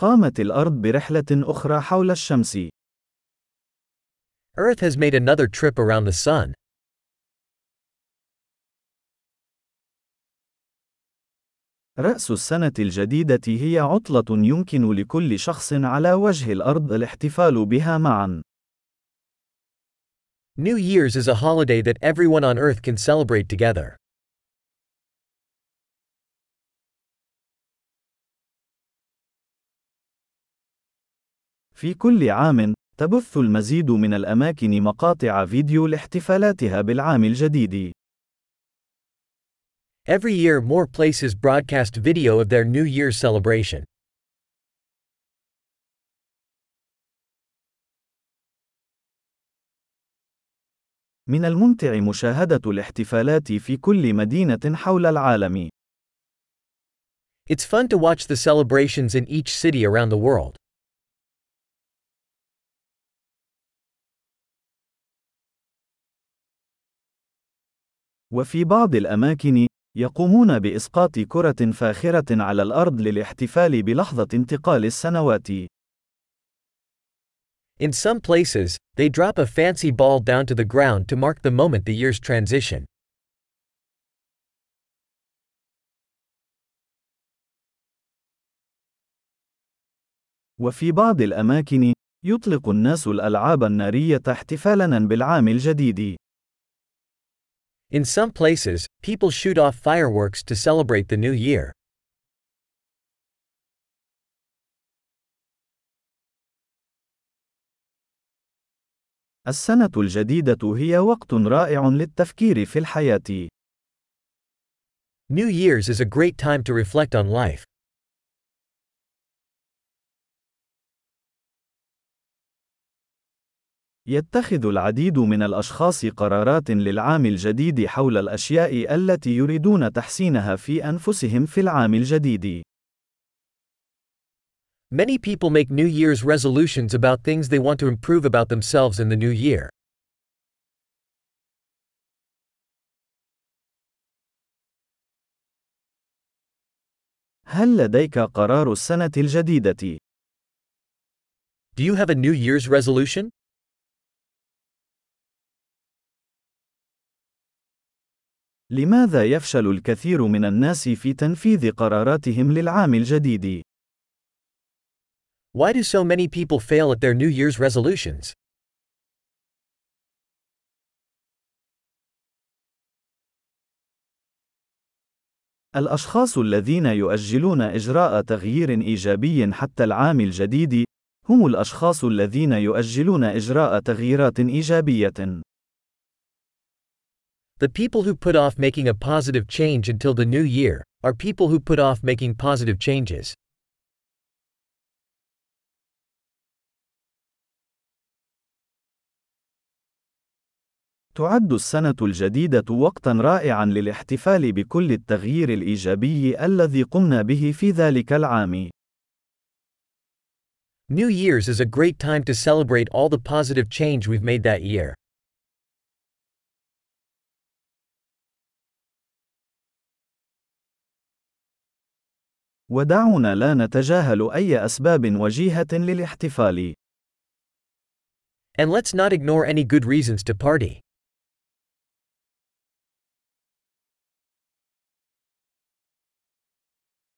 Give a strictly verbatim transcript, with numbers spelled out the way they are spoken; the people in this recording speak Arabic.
قامت الأرض برحلة أخرى حول الشمس. Earth has made another trip around the sun. رأس السنة الجديدة هي عطلة يمكن لكل شخص على وجه الأرض الاحتفال بها معا. New Year's is a holiday that everyone on Earth can celebrate together. في كل عام، تبث المزيد من الأماكن مقاطع فيديو لاحتفالاتها بالعام الجديد. Every year more places broadcast video of their New Year's celebration. من الممتع مشاهدة الاحتفالات في كل مدينة حول العالم. It's fun to watch the celebrations in each city around the world. وفي بعض الأماكن، يقومون بإسقاط كرة فاخرة على الأرض للاحتفال بلحظة انتقال السنوات. In some places, they drop a fancy ball down to the ground to mark the moment the year's transition. وفي بعض الأماكن، يطلق الناس الألعاب النارية احتفالاً بالعام الجديد. In some places, people shoot off fireworks to celebrate the new year. السنة الجديدة هي وقت رائع للتفكير في الحياة. New Year's is a great time to reflect on life. يتخذ العديد من الأشخاص قرارات للعام الجديد حول الأشياء التي يريدون تحسينها في أنفسهم في العام الجديد. Many people make New Year's resolutions about things they want to improve about themselves in the new year. هل لديك قرار السنة الجديدة؟ Do you have a New Year's resolution? لماذا يفشل الكثير من الناس في تنفيذ قراراتهم للعام الجديد؟ Why do so many people fail at their New Year's resolutions? الأشخاص الذين يؤجلون إجراء تغيير إيجابي حتى العام الجديد، هم الأشخاص الذين يؤجلون إجراء تغييرات إيجابية. The people who put off making a positive change until the new year are people who put off making positive changes. تعد السنة الجديدة وقتاً رائعاً للاحتفال بكل التغيير الإيجابي الذي قمنا به في ذلك العام. New Year's is a great time to celebrate all the positive change we've made that year. ودعونا لا نتجاهل أي أسباب وجيهة للاحتفال. And let's not ignore any good reasons to party.